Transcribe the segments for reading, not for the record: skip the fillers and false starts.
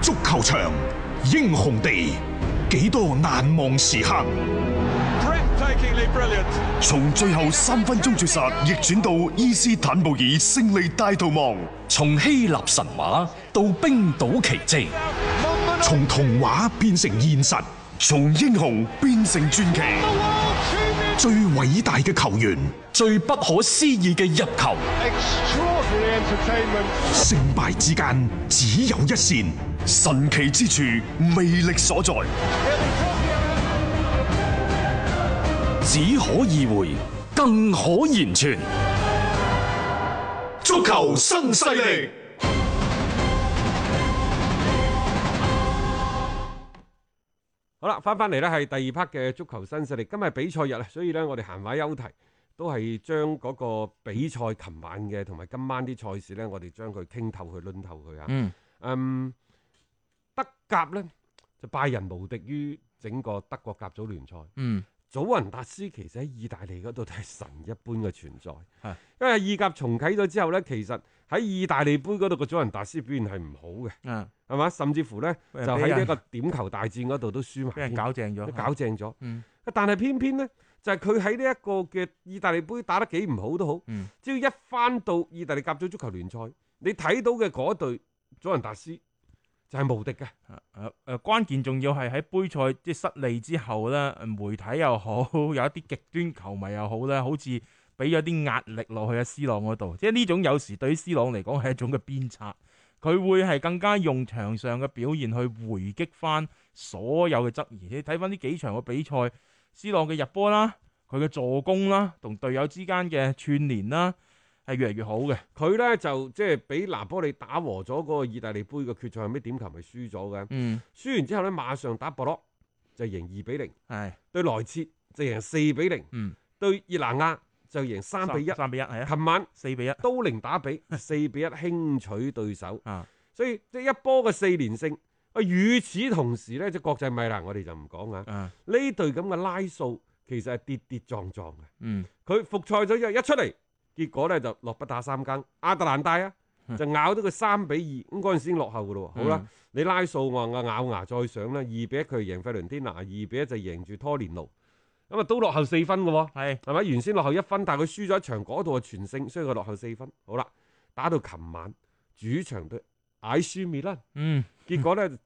足球場，英雄地，幾多難忘時刻。從最後3分鐘絕殺逆轉到伊斯坦布爾勝利大逃亡， 從希臘神話到冰島奇蹟， 從童話變成現實，從英雄變成傳奇。最偉大嘅球員， 最不可思議嘅入球， 勝敗之間只有一線，神奇之處魅力所在， 只可意會，更可言傳。 足球新勢力。 好啦，翻嚟呢係第二 part 嘅足球新勢力。今日比賽日啊，所以呢，我哋閒話休題，都係將嗰個比賽琴晚嘅同埋今晚啲賽事呢，我哋將佢傾透佢、論透佢啊。德甲呢，就拜仁無敵於整個德國甲組聯賽。祖雲達斯其實喺意大利嗰度都係神一般嘅存在，因為意甲重啟咗之後呢，其實喺意大利杯嗰度個祖雲達斯表現係唔好嘅，係嘛？甚至乎呢，就喺呢一個點球大戰嗰度都輸埋， 俾人搞正咗， 搞正咗。但係偏偏呢，就係佢喺呢一個嘅意大利杯打得幾唔好都好，只要一翻到意大利甲組足球聯賽，你睇到嘅嗰隊祖雲達斯就係無敵嘅。 關鍵仲要係喺杯賽即係失利之後咧，媒體又好，有一啲極端球迷又好咧，好似俾咗啲壓力落去C朗嗰度。即係呢種有時對於C朗嚟講係一種嘅鞭策，佢會係更加用場上嘅表現去回擊翻所有嘅質疑。你睇翻呢幾場嘅比賽，C朗嘅入波啦，佢嘅助攻啦，同隊友之間嘅串聯啦，係越嚟越好嘅。 佢呢就即係俾拿波利打和咗嗰個意大利杯嘅決賽，係咩點球咪輸咗嘅？輸完之後呢，馬上打博洛就贏2-0，係對萊切就贏4-0，對熱拿亞就贏3-1， 係啊。 琴晚 4-1 都靈打比4-1輕取對手，所以即係一波嘅4連勝。與此同時呢，即係國際米蘭我哋就唔講啊。呢隊咁嘅拉素其實係跌跌撞撞嘅。佢復賽咗之後一出嚟。結果咧就落不打3更，亞特蘭大啊就咬到佢3-2，咁嗰陣時已經落後嘅咯。好啦，你拉數話咬牙再上啦，2-1佢贏費倫天拿，2-1就贏住拖連奴，咁啊都落後4分嘅喎，係咪？原先落後1分，但係佢輸咗一場，嗰度係全勝，所以佢落後4分。好啦，打到琴晚主場對艾舒米蘭，結果咧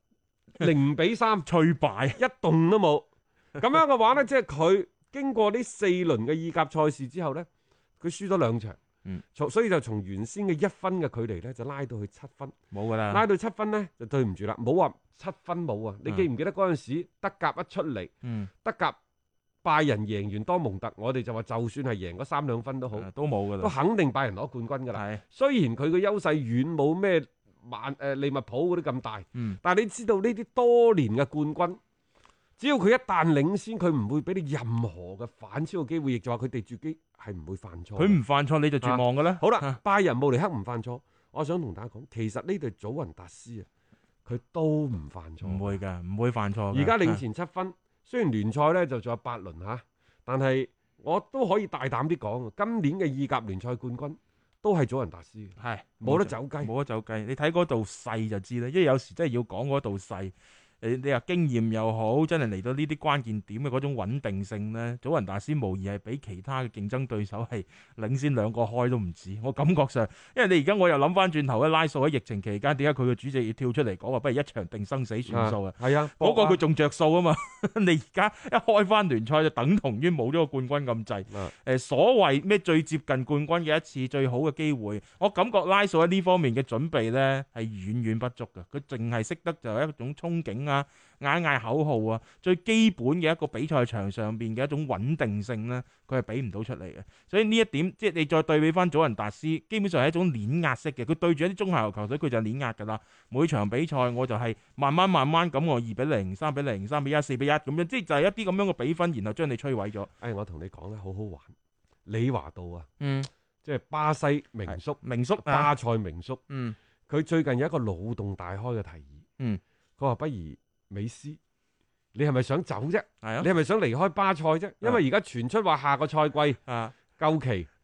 0-3 脆敗， 一動都冇。咁樣嘅話咧，即係佢經過呢4輪嘅意甲賽事之後咧。佢輸咗2場，所以就從原先嘅1分嘅距離咧，就拉到去7分， 冇噶啦。 拉到7分咧，就對唔住啦，冇話7分冇啊！你記唔記得嗰陣時德甲一出嚟，德甲拜仁贏完多蒙特，我哋就話就算係贏嗰3-2分都好， 都冇噶啦， 都肯定拜仁攞冠軍噶啦。雖然佢嘅優勢遠冇咩利物浦嗰啲咁大，但係你知道呢啲多年嘅冠軍。只要佢一旦領先，佢唔會俾你任何嘅反超嘅機會，亦就話佢哋自己係唔會犯錯。 佢唔犯錯你就絕望嘅啦。 好啦，拜仁慕尼黑唔犯錯，我想同大家講，其實呢隊祖雲達斯啊，佢都唔犯錯。 唔會㗎，唔會犯錯。 而家領前7分，雖然聯賽咧就仲有8輪嚇，但係我都可以大膽啲講，今年嘅意甲聯賽冠軍都係祖雲達斯，係冇得走雞， 冇得走雞。你睇嗰度勢就知啦，因為有時真係要講嗰度勢。你話經驗又好，真係嚟到呢啲關鍵點嘅嗰種穩定性呢，祖雲達斯無疑係比其他嘅競爭對手係領先2個開都唔止。我感覺上，因為你而家我又諗翻轉頭咧，拉素喺疫情期間點解佢嘅主席要跳出嚟講話，不如一場定生死算數啊？係啊，嗰個佢仲着數啊嘛。你而家一開翻聯賽就等同於冇咗個冠軍咁滯。所謂咩最接近冠軍嘅一次最好嘅機會，我感覺拉素喺呢方面嘅準備呢係遠遠不足嘅。佢淨係識得就係一種憧憬。嗌嗌口號啊，最基本嘅一個比賽場上邊嘅一種穩定性呢，佢係俾唔到出嚟嘅。所以呢一點，即係你再對比翻祖雲達斯，基本上係一種碾壓式嘅。佢對住一啲中下游球隊，佢就碾壓噶啦。每場比賽我就係慢慢咁，我2-0、3-0、3-1、4-1咁樣，即係就係一啲咁樣嘅比分，然後將你摧毀咗。 我同你講咧，好好玩。李華道啊，即係巴西名宿，巴塞名宿，佢最近有一個腦洞大開嘅提議。佢話不如美斯，你係咪想走啫？你係咪想離開巴塞啫？因為而家傳出話下個賽季夠期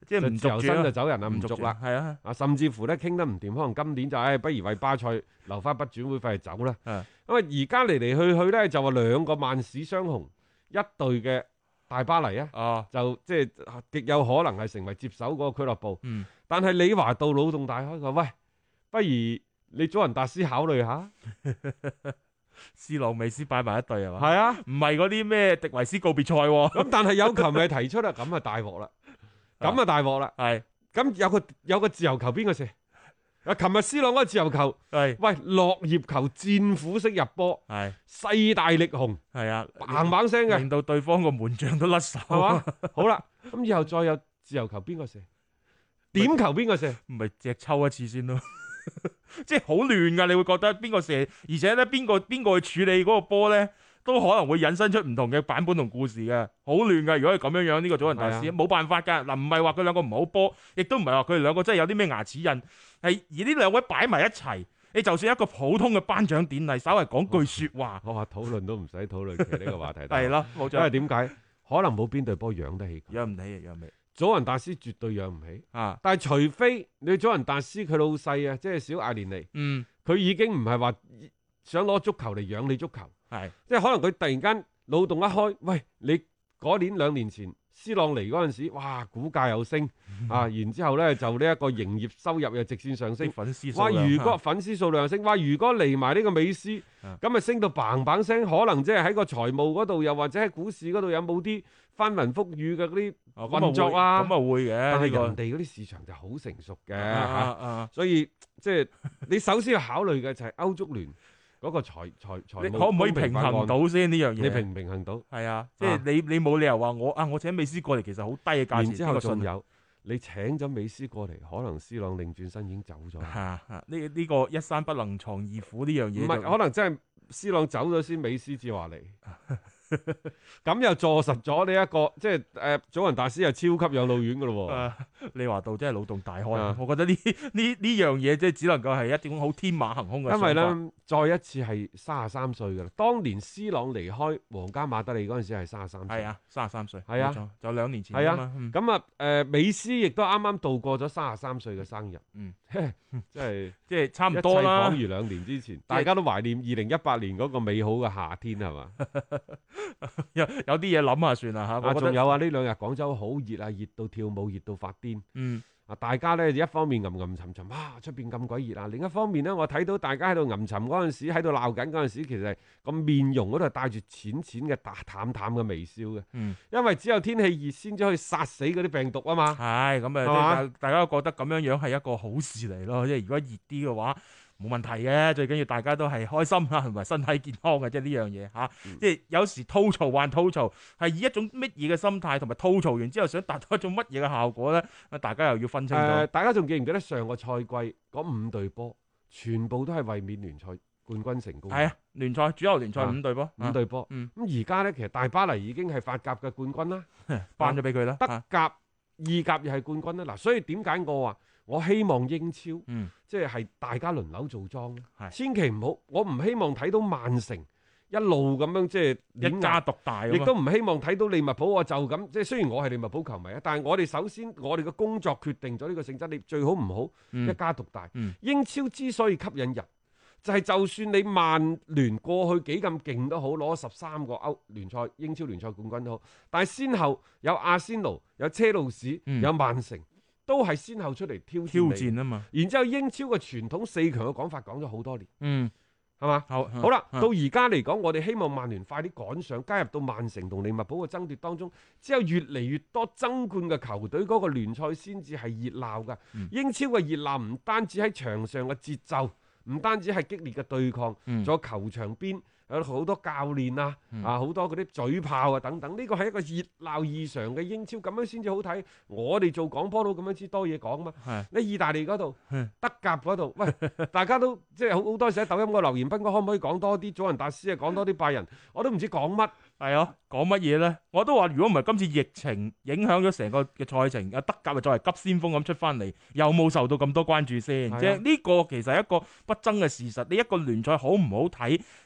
即係唔自由續身就走人啦，唔續續啦。 係啊， 甚至乎咧傾得唔掂，可能今年就不如為巴塞留翻筆轉會費就走啦。咁啊，而家嚟嚟去去咧就話兩個曼市雙雄，一隊嘅大巴黎啊，就即係極有可能係成為接手嗰個俱樂部。但係李華道腦洞大開，佢話喂，不如你祖雲達斯考慮下。 斯朗美斯擺埋一隊係嘛？ 係啊， 唔係嗰啲咩迪維斯告別賽喎。 咁但係有球迷提出啦，咁啊大鑊啦，咁啊大鑊啦。 係咁有個自由球邊個射？琴日斯朗嗰個自由球，喂落葉球戰斧式入波，勢大力雄， 係啊， 砰砰聲嘅， 令到對方個門將都甩手， 係嘛？好啦，咁以後再有自由球邊個射？點球邊個射？ 唔係隻抽一次先咯。即係好亂噶，你會覺得邊個射，而且咧邊個去處理嗰個波咧，都可能會引申出唔同嘅版本同故事嘅，好亂噶。如果係咁樣樣，呢個祖雲達斯冇辦法噶。嗱，唔係話佢兩個唔好波，亦都唔係話佢哋兩個真係有啲咩牙齒印，係而呢兩位擺埋一齊，你就算一個普通嘅頒獎典禮，稍微講句說話， 我話討論都唔使討論嘅呢個話題。 係咯，冇錯。 因為點解？可能冇邊隊波養得起佢， 養唔起，養唔起。 祖雲達斯絕對養唔起啊！但係除非你祖雲達斯佢老細啊，即係小艾連尼，佢已經唔係話想攞足球嚟養你足球，即係可能佢突然間腦洞一開，喂，你嗰年2年前斯朗嚟嗰陣時，哇，股價又升啊，然之後咧就呢一個營業收入又直線上升， 粉絲哇！如果粉絲數量升，哇！如果嚟埋呢個美斯，咁啊升到砰砰聲，可能即係喺個財務嗰度，又或者喺股市嗰度有冇啲翻雲覆雨嘅嗰啲運作啊？ 咁啊會嘅， 但係人哋嗰啲市場就好成熟嘅，所以即係你首先要考慮嘅就係歐足聯嗰個財務， 可唔可以平衡到先呢樣嘢？ 你平唔平衡到？ 係啊，即係你冇理由話我請美斯過嚟，其實好低嘅價錢。 然之後仲有你請咗美斯過嚟，可能斯朗擰轉身已經走咗。 呢個一山不能藏二虎呢樣嘢， 唔係可能真係斯朗走咗先，美斯至話嚟。咁又坐實咗呢一個，即係祖雲達斯又超級養老院噶咯喎。 你話到真係腦洞大開，我覺得呢樣嘢即係只能夠係一種好天馬行空嘅想法。 因為咧，再一次係33歲噶啦。當年斯朗離開皇家馬德里嗰陣時係33歲。 係啊，33歲。 係啊， 就2年前。 係啊，咁啊，美斯亦都啱啱度過咗33歲嘅生日。 即係差唔多啦。 一切恍如2年之前，大家都懷念2018年嗰個美好嘅夏天係嘛？ 有啲嘢諗下算啦嚇。 仲有啊，呢2日廣州好熱啊，熱到跳舞，熱到發癲。大家咧一方面吟沉沉，出邊咁鬼熱啊！另一方面咧，我睇到大家喺度吟沉嗰陣時，喺度鬧緊嗰陣時，其實個面容嗰度係帶住淺嘅淡嘅微笑嘅。因為只有天氣熱先至可以殺死嗰啲病毒啊嘛。 係咁啊，大家都覺得咁樣樣係一個好事嚟咯。即係如果熱啲嘅話，冇問題嘅，最緊要大家都係開心啦，同埋身體健康嘅，即係呢樣嘢嚇。即係有時吐槽還吐槽，係以一種乜嘢嘅心態，同埋吐槽完之後想達到一種乜嘢嘅效果咧？大家又要分清楚。 大家仲記唔記得上個賽季嗰5隊波，全部都係衛冕聯賽冠軍成功？ 係啊，聯賽主流聯賽5隊波 ，5隊波。咁而家咧，其實大巴黎已經係法甲嘅冠軍啦， 頒咗俾佢啦。 德甲、意甲又係冠軍啦。嗱，所以點解我話我希望英超，即係大家輪流做莊，千祈唔好，我唔希望睇到曼城一路咁樣即係一家獨大， 亦都唔希望睇到利物浦我就咁，即係雖然我係利物浦球迷啊，但係我哋首先我哋嘅工作決定咗呢個性質，你最好唔好一家獨大。英超之所以吸引人，就係就算你曼聯過去幾咁勁都好，攞13個英超聯賽冠軍都好，但係先後有阿仙奴、有車路士、有曼城。都係先後出嚟挑戰啊嘛，然之後英超嘅傳統4強嘅講法講咗好多年，係嘛？好啦，到而家嚟講，我哋希望曼聯快啲趕上，加入到曼城同利物浦嘅爭奪當中，只有越嚟越多爭冠嘅球隊，嗰個聯賽先至係熱鬧噶。英超嘅熱鬧唔單止喺場上嘅節奏，唔單止係激烈嘅對抗，仲有球場邊有好多教練啊，好多嗰啲嘴炮啊等等，呢個係一個熱鬧異常嘅英超，咁樣先至好睇。我哋做廣播都咁樣知多嘢講嘛。你意大利嗰度、德甲嗰度，喂，大家都即係好多時喺抖音個留言，斌哥可唔可以講多啲祖雲達斯啊，講多啲拜仁，我都唔知講乜。 係啊，講乜嘢咧？我都話如果唔係今次疫情影響咗成個嘅賽程，阿德甲啊作為急先鋒咁出翻嚟，有冇受到咁多關注先？即係呢個其實係一個不爭嘅事實。你一個聯賽好唔好睇，嗰種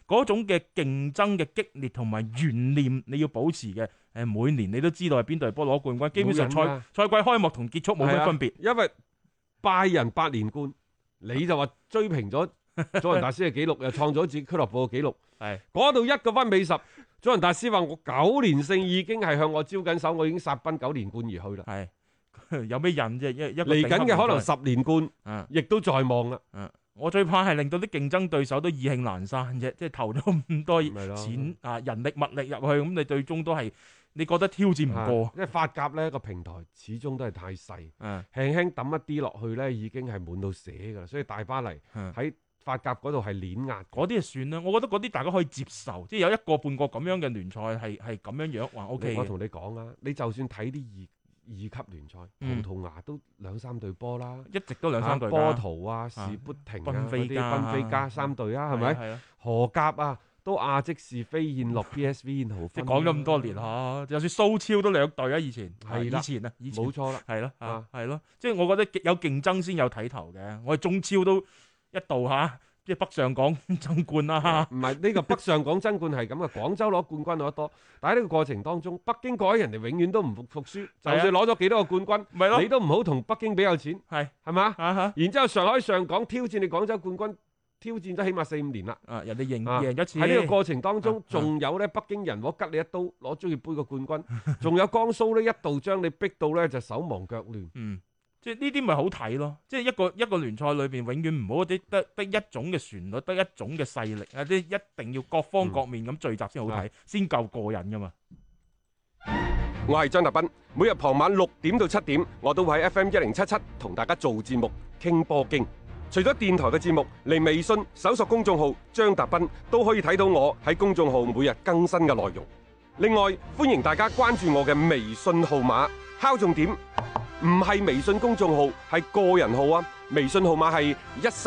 嘅競爭嘅激烈同埋懸念你要保持嘅。每年你都知道係邊隊波攞冠軍，基本上賽季開幕同結束冇乜分別。 因為拜仁8連冠，你就話追平咗祖雲達斯嘅紀錄，又創咗自己俱樂部嘅紀錄。係嗰度一個分比10，祖雲達斯話我9連勝已經係向我招緊手，我已經殺奔9連冠而去啦。 係有咩癮啫？一個嚟緊嘅可能10連冠，亦都在望啦。 我最怕係令到啲競爭對手都意興闌珊啫，即係投咗咁多錢人力物力入去，咁你最終都係你覺得挑戰唔過。因為法甲呢個平台始終都係太細，輕輕抌一啲落去呢已經係滿到瀉㗎啦，所以大巴黎喺法甲嗰度係碾壓， 嗰啲就算啦。我覺得嗰啲大家可以接受，即係有一個半個咁樣嘅聯賽係咁樣話 OK 嘅。 我同你講啊，你就算睇啲二級聯賽，葡萄牙都2-3隊波啦， 一直都2-3隊。 波圖啊、士砵亭啊、嗰啲賓菲加3隊啊，係咪？荷甲啊，都亞積士、飛燕諾、PSV 燕豪芬。 即係講咗咁多年嚇，就算蘇超都2隊啊，以前冇錯啦， 係咯，係咯，即係我覺得有競爭先有睇頭嘅。我哋中超都一度即係北上港爭冠啦。 唔係呢個北上港爭冠係咁嘅，廣州攞冠軍攞得多，但係呢個過程當中，北京嗰啲人哋永遠都唔服輸，就算攞咗幾多個冠軍，你都唔好同北京比有錢，係嘛？然之後上海上港挑戰你廣州冠軍，挑戰咗起碼4-5年啦。人哋贏一次。喺呢個過程當中，仲有咧北京人我吉你一刀攞足協杯嘅冠軍，仲有江蘇呢一度將你逼到咧就手忙腳亂。 即係呢啲咪好睇咯，即係一個聯賽裏邊永遠唔好得一種嘅旋律，得一種嘅勢力啊！即係一定要各方各面咁聚集先好睇，先夠過癮噶嘛。 我係張達斌，每日傍晚6點到7點，我都會喺 FM 1077同大家做節目傾波經。除咗電台嘅節目，嚟微信搜索公眾號張達斌都可以睇到我喺公眾號每日更新嘅內容。另外，歡迎大家關注我嘅微信號碼，敲重點。唔係微信公眾號，係個人號啊！微信號碼係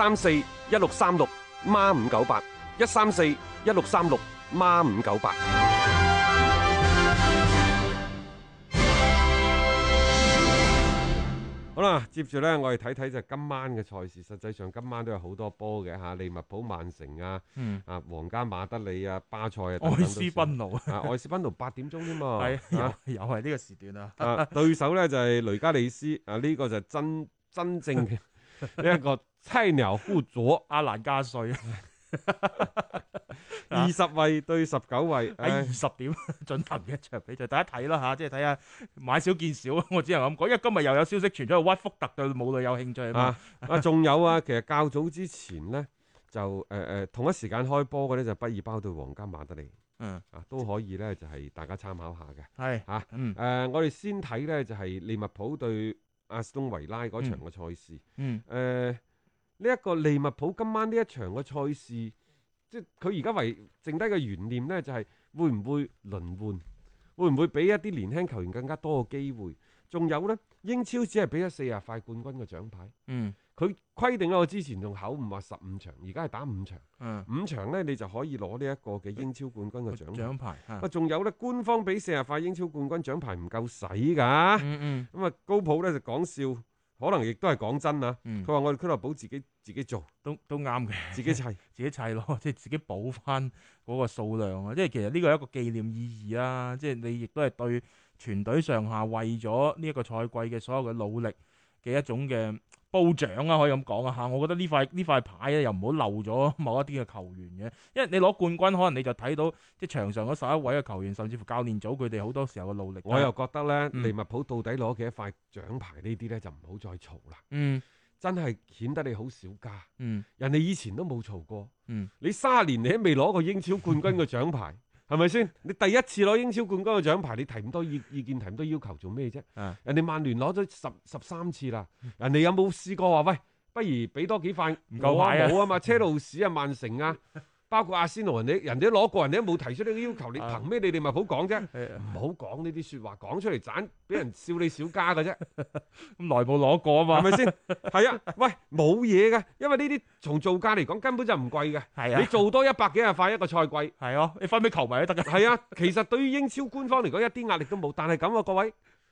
1341636孖598 1341636孖598。好啦，接住呢，我哋睇睇就今晚嘅賽事。實際上今晚都有好多波嘅嚇，利物浦、曼城啊，皇家馬德里啊，巴塞啊， 愛斯賓奴愛斯賓奴8點鐘添嘛， 又係呢個時段啊！ 對手呢就係雷加利斯啊，呢個就真正嘅呢一個菜鳥互啄阿蘭加瑞。 20位對19位喺20點進行嘅一場比賽，大家睇啦嚇，即係睇下買少見少，我只能咁講，因為今日又有消息傳咗去屈福特對母女有興趣啊嘛。 仲有啊，其實較早之前呢，就同一時間開波嘅呢，就畢爾包對皇家馬德里，都可以呢，就係大家參考下嘅。係我哋先睇呢，就係利物浦對阿斯東維拉嗰場嘅賽事。呢一個利物浦今晚呢一場嘅賽事，即係佢而家剩低嘅懸念呢，就係會唔會輪換，會唔會俾一啲年輕球員更加多嘅機會？仲有呢，英超只係俾咗40塊冠軍嘅獎牌。佢規定咗我之前仲口誤話15場，而家係打5場。5場呢，你就可以攞呢一個嘅英超冠軍嘅獎牌。仲有呢，官方俾40塊英超冠軍獎牌唔夠使㗎。咁啊，高普呢就講笑。可能亦都係講真啊！佢話我哋俱樂部自己做都啱嘅， 自己砌咯，即係自己補翻嗰個數量啊！即係其實呢個係一個紀念意義啦，即係你亦都係對全隊上下為咗呢一個賽季嘅所有嘅努力嘅一種嘅褒獎啊，可以咁講啊嚇！我覺得呢塊牌咧又唔好漏咗某一啲嘅球員嘅，因為你攞冠軍可能你就睇到即係場上嗰11位嘅球員，甚至乎教練組佢哋好多時候嘅努力。我又覺得咧，利物浦到底攞幾多塊獎牌呢啲咧就唔好再嘈啦。真係顯得你好少家。人哋以前都冇嘈過。你30年你都未攞過英超冠軍嘅獎牌。係咪先？你第一次攞英超冠軍嘅獎牌，你提咁多意見，提咁多要求做咩啫？人哋曼聯攞咗13次啦，人哋有冇試過話喂，不如俾多幾塊唔夠牌啊？冇啊嘛，車路士啊、曼城啊，包括阿仙奴，人哋都攞過，人哋都冇提出呢個要求，你憑咩你哋咪好講啫？唔好講呢啲説話，講出嚟盞俾人笑你小家嘅啫。咁內部攞過啊嘛，係咪先？係啊，喂，冇嘢嘅，因為呢啲從造價嚟講根本就唔貴嘅。係啊，你做多100幾廿塊一個賽季，係啊，你分俾球迷都得嘅。係啊，其實對於英超官方嚟講一啲壓力都冇，但係咁啊，各位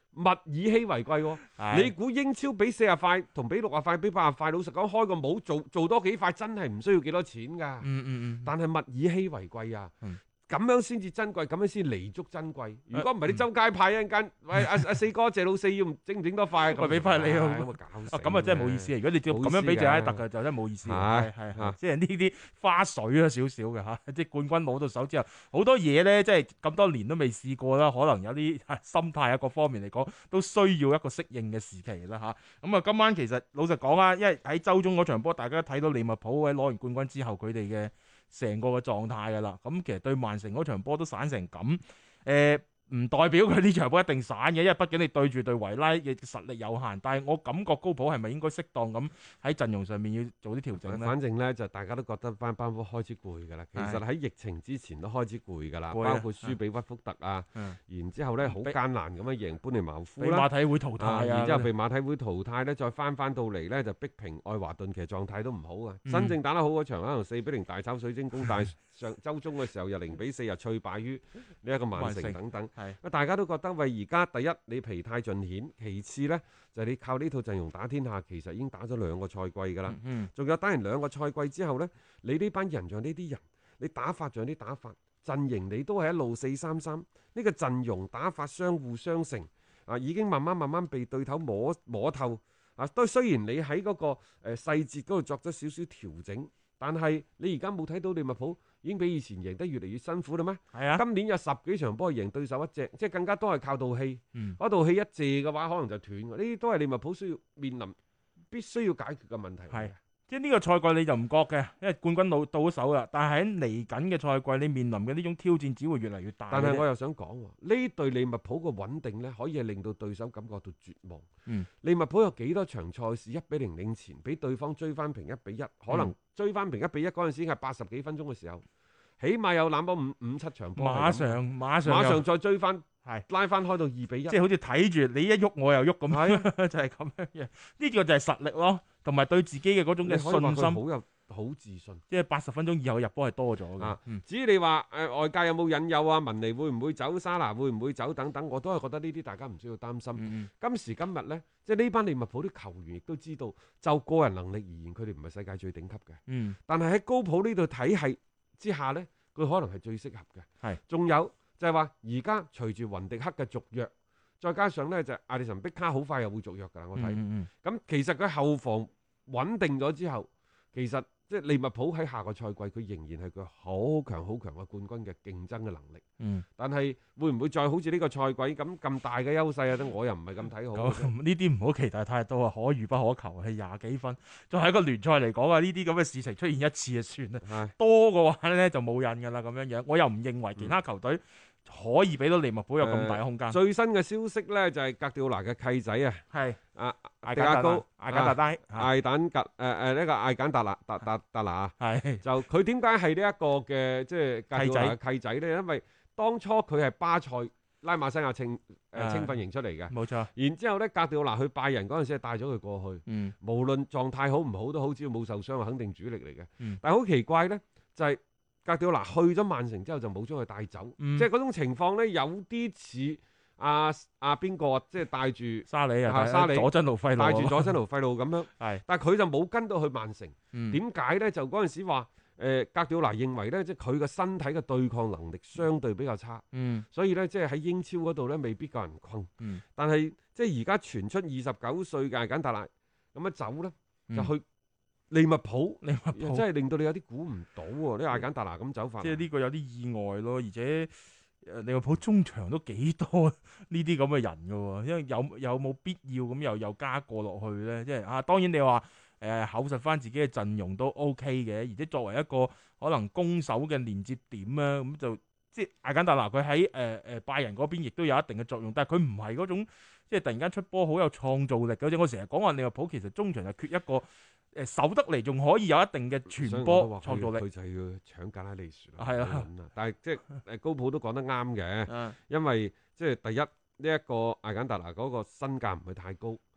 物以稀為貴喎。你估英超比40塊同比60塊比80塊，老實講開個帽做多幾塊真係唔需要幾多錢㗎。但係物以稀為貴啊。咁樣先至珍貴，咁樣先彌足珍貴。如果唔係你周街派一間，喂阿四哥謝老四要整唔整多塊？ 我俾翻你啊！咁啊真係冇意思啊！如果你照咁樣俾謝拉特嘅，就真係冇意思。係即係呢啲花絮啊少少嘅嚇，即係冠軍攞到手之後，好多嘢咧，即係咁多年都未試過啦，可能有啲心態啊各方面嚟講，都需要一個適應嘅時期啦嚇。咁啊，今晚其實老實講啊，因為喺週中嗰場波，大家睇到利物浦喺攞完冠軍之後，佢哋嘅成個嘅狀態㗎啦，咁其實對曼城嗰場波都散成咁，唔代表佢呢場波一定散嘅，因為畢竟你對住對維拉嘅實力有限。但係我感覺高普係咪應該適當咁喺陣容上面要做啲調整咧？ 反正咧就大家都覺得班波開始攰㗎啦。其實喺疫情之前都開始攰㗎啦，包括輸俾屈福特啊，然之後咧好艱難咁樣贏般尼茅夫啦， 被馬體會淘汰啊， 然之後被馬體會淘汰咧，再翻到嚟咧就逼平愛華頓，其實狀態都唔好啊。真正打得好嗰場可能4-0大炒水晶宮，但係上週中嘅時候又0-4又脆敗於呢一個曼城等等。大家都覺得喂，而家第一你疲態盡顯，其次呢，就係你靠呢套陣容打天下，其實已經打咗2個賽季㗎啦。仲有打完2個賽季之後呢，你呢班人像呢啲人，你打法像啲打法，陣型你都係一路4-3-3，呢個陣容打法相互相成啊，已經慢慢被對頭摸透啊。都雖然你喺嗰個細節嗰度作咗少少調整，但係你而家冇睇到利物浦已經比以前贏得越嚟越辛苦啦咩？係啊！今年有10幾場波贏對手一隻，即係更加多係靠道氣。嗰道氣一借嘅話，可能就斷㗎。呢啲都係利物浦需要面臨必須要解決嘅問題。係， 即係呢個賽季你就唔覺嘅，因為冠軍到咗手啦。但係喺嚟緊嘅賽季，你面臨嘅呢種挑戰只會越嚟越大。 但係我又想講喎，呢隊利物浦嘅穩定呢，可以係令到對手感覺到絕望。利物浦有幾多場賽事1-0領前，俾對方追翻平1-1，可能追翻平1-1嗰陣時係80幾分鐘嘅時候，起碼有攬波5-7場波，馬上再追翻，拉翻開到2-1， 即係好似睇住你一喐我又喐咁，就係咁樣嘅。呢個就係實力咯，同埋對自己嘅嗰種嘅信心。好自信，即係80分鐘以後入波係多咗嘅。 至於你話外界有冇引誘啊，文尼會唔會走，沙拿會唔會走等等，我都係覺得呢啲大家唔需要擔心。今時今日呢，即係呢班利物浦啲球員亦都知道，就個人能力而言，佢哋唔係世界最頂級嘅。但係喺高普呢度體系之下呢，佢可能係最適合嘅。仲有就係話，而家隨住雲迪克嘅續約，再加上呢就艾利臣碧卡好快又會續約㗎啦。我睇咁其實佢後防穩定咗之後，其實即係利物浦喺下個賽季，佢仍然係佢好強嘅冠軍嘅競爭嘅能力。但係會唔會再好似呢個賽季咁大嘅優勢啊？我又唔係咁睇好。 呢啲唔好期待太多啊！可遇不可求，係20幾分，仲係一個聯賽嚟講啊！呢啲咁嘅事情出現一次就算啦，多嘅話咧就冇癮㗎啦咁樣樣。我又唔認為其他球隊可以俾到利物浦有咁大嘅空間。 最新嘅消息咧就係格調拿嘅契仔啊，係艾簡高、艾簡達拉、 艾簡格呢個艾簡達拿達拿啊，就佢點解係呢一個嘅即係格調拿嘅契仔咧？因為當初佢係巴塞拉馬西亞青訓營出嚟嘅，冇錯。然之後咧，格調拿去拜仁嗰陣時係帶咗佢過去，無論狀態好唔好都好，只要冇受傷，肯定主力嚟嘅。但係好奇怪咧，就係格調拿去咗曼城之後就冇將佢帶走，即係嗰種情況咧有啲似邊個即係帶住沙里佐真奴費路， 帶住佐真奴費路咁樣。但係佢就冇跟到去曼城。點解咧？就嗰陣時話格調拿認為咧，即係佢個身體嘅對抗能力相對比較差，所以咧即係喺英超嗰度咧未必夠人困。但係即係而家傳出29歲嘅艾簡達拿咁樣走咧，就去利物浦真係令到你有啲估唔到喎！呢艾簡達拿咁走法， 即係呢個有啲意外咯。而且利物浦中場都幾多呢啲咁嘅人㗎喎，因為有冇必要咁又加過落去咧？即係當然你話厚實翻自己嘅陣容都 OK 嘅，而且作為一個可能攻守嘅連接點啊，咁就即係艾簡達拿佢喺拜仁嗰邊亦都有一定嘅作用，但係佢唔係嗰種即係突然間出波好有創造力嗰種。我成日講話利物浦其實中場就缺一個守得嚟仲可以有一定嘅傳波創造力。 佢就係要搶格拉利殊啦。係啊，但係即係高普都講得啱嘅，因為即係第一呢一個艾簡達拿嗰個身價唔係太高，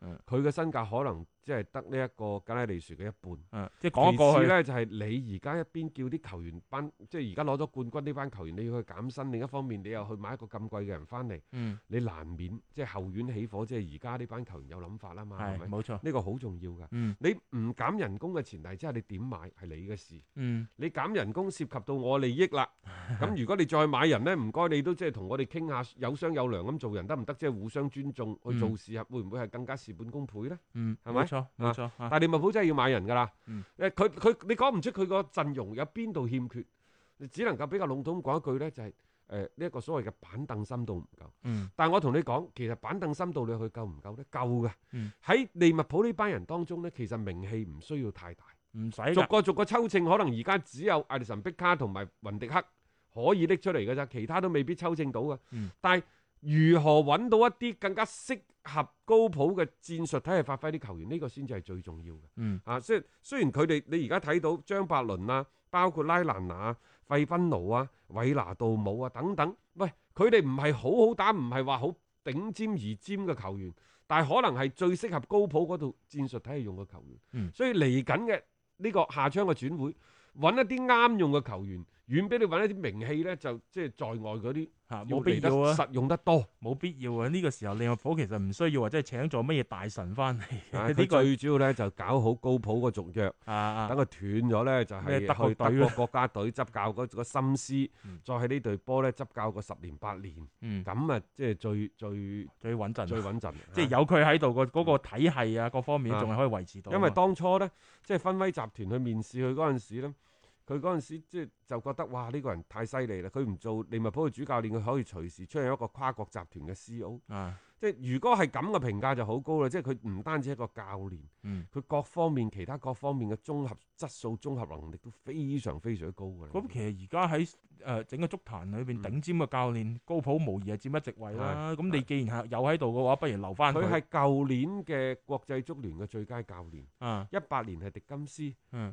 佢嘅身價可能即係得呢一個格拉利殊嘅一半。 即係講過去咧，就係你而家一邊叫啲球員班，即係而家攞咗冠軍呢班球員，你要去減薪；另一方面，你又去買一個咁貴嘅人翻嚟，你難免即係後院起火。即係而家呢班球員有諗法啦嘛，係咪？ 冇錯， 呢個好重要㗎。你唔減人工嘅前提之下，你點買係你嘅事。你減人工涉及到我利益啦。咁如果你再買人咧，唔該你都即係同我哋傾下，有商有量咁做人得唔得？即係互相尊重去做事，會唔會係更加事半功倍咧？係咪？ 冇錯，冇錯。 但係利物浦真係要買人㗎啦。你講唔出佢個陣容有邊度欠缺，你只能夠比較籠統講一句咧，就係呢一個所謂嘅板凳深度唔夠。但係我同你講，其實板凳深度你去夠唔夠咧？夠嘅。喺利物浦呢班人當中咧，其實名氣唔需要太大， 唔使逐個抽秤，可能而家只有艾利臣、碧卡同埋雲迪克可以拎出嚟嘅咋，其他都未必抽秤到嘅。但係如何揾到一啲更加適合高普嘅戰術體系發揮啲球員，呢個先至係最重要嘅。即係雖然佢哋你而家睇到張伯倫啊，包括拉蘭拿、費賓奴啊、韋拿杜姆啊等等，喂，佢哋唔係好好打，唔係話好頂尖而尖嘅球員，但係可能係最適合高普嗰套戰術體系用嘅球員。所以嚟緊嘅呢個夏窗嘅轉會，揾一啲啱用嘅球員，遠比你揾一啲名氣咧，就即係在外嗰啲冇必要啊， 實用得多， 冇必要啊！呢個時候利物浦其實唔需要話即係請咗乜嘢大神翻嚟。 佢最主要咧就搞好高普個續約，等佢斷咗咧就係去德國國家隊執教嗰個心思，再喺呢隊波咧執教個10年8年，咁啊即係最穩陣，最穩陣。即係有佢喺度個嗰個體系啊，各方面仲係可以維持到。 因為當初咧即係芬威集團去面試佢嗰陣時咧。佢嗰陣時就覺得哇呢個人太犀利啦！佢唔做利物浦嘅主教練，佢可以隨時出現一個跨國集團嘅 CEO。即係如果係咁嘅評價就好高啦！即係佢唔單止係一個教練，佢各方面其他各方面嘅綜合質素、綜合能力都非常非常高㗎。 咁其實而家喺整個足壇裏邊頂尖嘅教練，高普無疑係佔一席位啦。咁你既然係有喺度嘅話，不如留翻佢。 佢係舊年嘅國際足聯嘅最佳教練。18年係迪金斯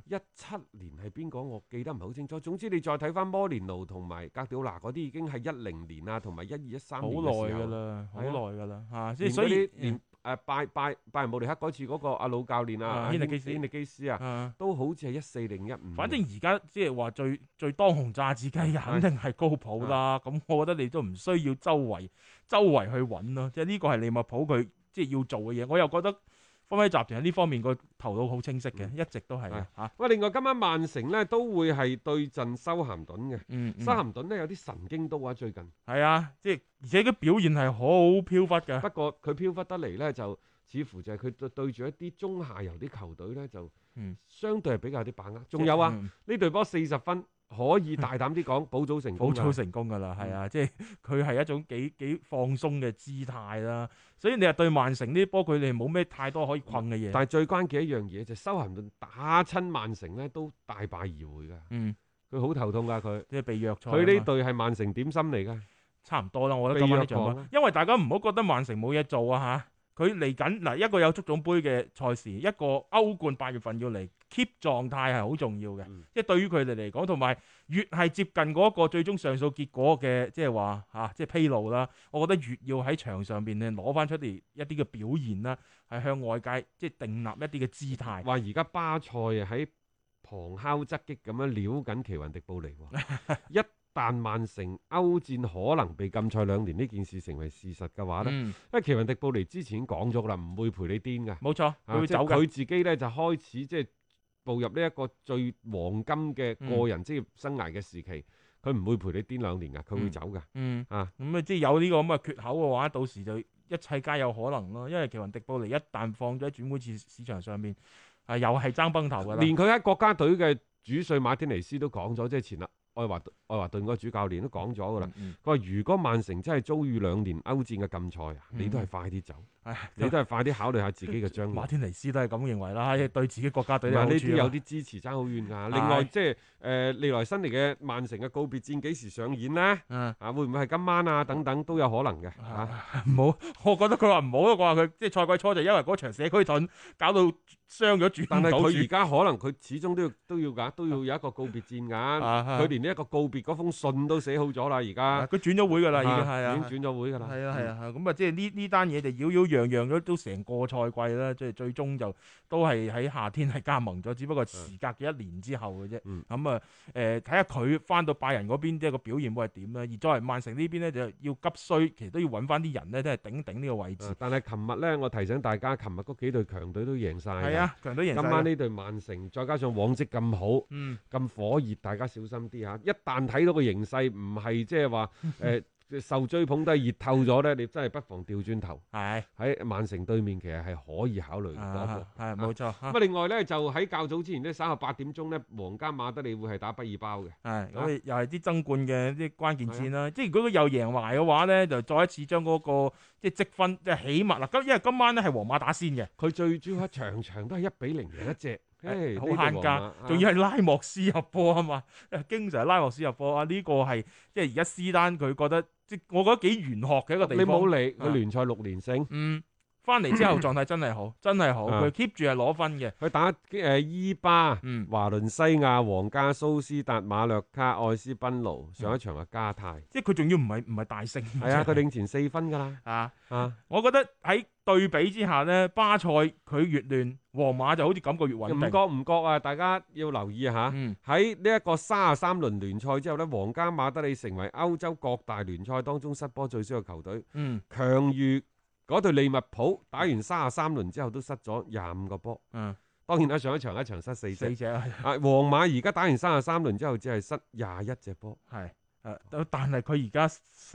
，17年係邊個？我記得唔係好清楚。總之你再睇翻摩連奴同埋格調拿嗰啲，已經係10年啊，同埋12、13年嘅時候。好耐㗎啦，好耐㗎啦。即係所以連拜仁慕尼黑嗰次嗰個阿老教練啊，軒尼基斯啊，都好似係14定15。 反正而家即係話最當紅炸子雞嘅，肯定係高普啦。咁我覺得你都唔需要周圍去揾咯。即係呢個係利物浦佢即係要做嘅嘢。我又覺得芬威集團喺呢方面個頭腦好清晰嘅，一直都係嚇。 喂，另外今晚曼城咧都會係對陣修咸頓嘅。修咸頓咧有啲神經刀啊，最近係啊，即係而且佢表現係好飄忽嘅。 不過佢飄忽得嚟咧，就似乎就係佢對住一啲中下游啲球隊咧，就相對係比較有啲把握。仲有啊，呢隊波40分。可以大膽啲講，保組成功㗎啦，係啊，即係佢係一種幾放鬆嘅姿態啦。所以你話對曼城呢啲波，佢哋冇咩太多可以困嘅嘢。 但係最關鍵一樣嘢就係修咸頓打親曼城咧，都大敗而回㗎。佢好頭痛㗎，佢即係被弱賽。 佢呢隊係曼城點心嚟㗎？ 差唔多啦，我覺得今晚呢場波，因為大家唔好覺得曼城冇嘢做啊嚇。佢嚟緊嗱，一個有足總杯嘅賽事，一個歐冠8月份要嚟 keep 狀態係好重要嘅。即係對於佢哋嚟講，同埋越係接近嗰個最終上訴結果嘅，即係話即係披露啦。我覺得越要喺場上邊咧攞翻出嚟一啲嘅表現啦，係向外界即係訂立一啲嘅姿態。 話而家巴塞喺旁敲側擊咁樣撩緊奇雲迪布尼喎。但曼城歐戰可能被禁賽2年呢件事成為事實嘅話咧，因為奇雲迪布尼之前已經講咗啦，唔會陪你癲㗎。 冇錯，佢會走嘅。 佢自己咧就開始即係步入呢一個最黃金嘅個人職業生涯嘅時期，佢唔會陪你癲2年㗎，佢會走㗎。 咁即係有呢個咁嘅缺口嘅話，到時就一切皆有可能咯。因為奇雲迪布尼一旦放咗喺轉會市場上面，又係爭崩頭㗎啦。 連佢喺國家隊嘅主帥馬天尼斯都講咗，即係前啦。愛華頓個主教練都講咗㗎啦，佢話如果曼城真係遭遇2年歐戰嘅禁賽啊，你都係快啲走，你都係快啲考慮下自己嘅將來。 馬天尼斯都係咁認為啦，對自己國家隊有好處。 呢啲有啲支持爭好遠㗎。另外即係利來新嚟嘅曼城嘅告別戰幾時上演呢？會唔會係今晚啊？等等都有可能嘅。 唔好，我覺得佢話唔好咯。我話佢即係賽季初就因為嗰場社區盾搞到傷咗轉唔到。 但係佢而家可能佢始終都要有一個告別戰㗎。佢連連呢一個告別嗰封信都寫好咗啦，而家佢轉咗會㗎啦，已經係啊， 已經轉咗會㗎啦。 係啊，咁啊，即係呢單嘢就擾擾攘攘都成個賽季啦，即係最終就都係喺夏天係加盟咗，只不過時隔嘅一年之後嘅啫。咁啊，睇下佢翻到拜仁嗰邊即係個表現會係點咧？而作為曼城呢邊咧，就要急需，其實都要揾翻啲人咧，都係頂呢個位置。 但係琴日咧，我提醒大家，琴日嗰幾隊強隊都贏晒。 係啊，強隊贏晒。 今晚呢隊曼城，再加上往績咁好，咁火熱，大家小心啲嚇。一旦睇到個形勢唔係即係話受追捧都係熱透咗咧，你真係不妨調轉頭。喺曼城對面，其實係可以考慮嗰個。 係冇錯。 咁另外咧，就喺較早之前咧，稍後8點鐘咧，皇家馬德里會係打畢爾包嘅。 咁又係啲爭冠嘅啲關鍵戰啦。即係如果佢又贏埋嘅話咧，就再一次將嗰個即係積分即係起碼啦。因為今晚咧係皇馬打先嘅， 佢最主要場場都係1-0贏一隻。 好慳家，仲要係拉莫斯入波啊嘛，經常拉莫斯入波啊！呢個係即係而家斯丹佢覺得，即係我覺得幾玄學嘅一個地方。 你冇理佢聯賽6連勝， 翻嚟之後狀態真係好，真係好，佢 keep 住係攞分嘅。 佢打伊巴、華倫西亞、皇家蘇斯達、馬略卡、愛斯賓奴，上一場係加泰， 即係佢仲要唔係大勝。 係啊，佢領前4分㗎啦。 我覺得喺對比之下呢，巴塞佢越亂，皇馬就好似感覺越穩定。 唔覺啊！大家要留意下，喺呢一個33輪聯賽之後呢，皇家馬德里成為歐洲各大聯賽當中失波最少嘅球隊，強於嗰隊利物浦打完33輪之後都失咗25個波。當然啦，上一場失4隻。皇馬而家打完33輪之後只係失21隻波。 但係佢而家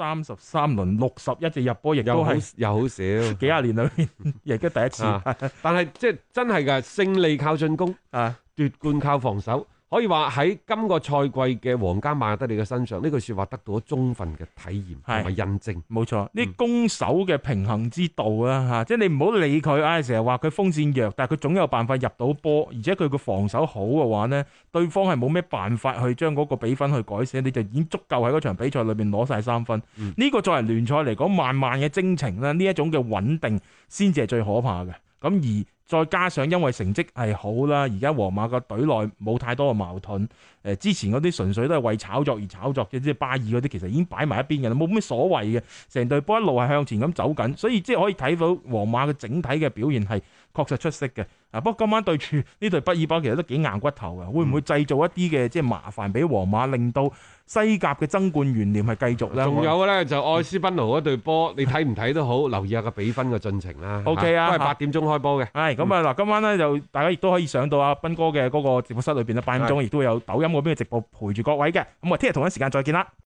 33輪61隻入波，亦都係又好少， 幾廿年裏面亦都第一次。 但係即係真係㗎，勝利靠進攻，奪冠靠防守。可以話喺今個賽季嘅皇家馬德里嘅身上，呢句説話得到咗充分嘅體驗同埋印證。 冇錯，呢攻守嘅平衡之道啦嚇，即係你唔好理佢，成日話佢鋒線弱，但係佢總有辦法入到波，而且佢個防守好嘅話呢，對方係冇咩辦法去將嗰個比分去改寫，你就已經足夠喺嗰場比賽裏邊攞晒3分。呢個作為聯賽嚟講，漫漫嘅征程咧，呢一種嘅穩定先至係最可怕嘅。咁而再加上因為成績係好啦，而家皇馬個隊內冇太多嘅矛盾。之前嗰啲純粹都係為炒作而炒作嘅，即係巴爾嗰啲其實已經擺埋一邊嘅啦，冇咩所謂嘅。成隊波一路係向前咁走緊，所以即係可以睇到皇馬嘅整體嘅表現係確實出色嘅。不過今晚對住呢隊畢爾包其實都幾硬骨頭嘅，會唔會製造一啲嘅即係麻煩俾皇馬，令到西甲嘅爭冠懸念係繼續咧？ 仲有嘅咧就愛斯賓奴嗰隊波，你睇唔睇都好，留意下個比分嘅進程啦。 OK 啊， 都係8點鐘開波嘅。 係咁啊嗱，今晚咧就大家亦都可以上到阿斌哥嘅嗰個直播室裏邊啦，8點鐘亦都會有抖音嗰邊嘅直播陪住各位嘅。咁我聽日同一時間再見啦。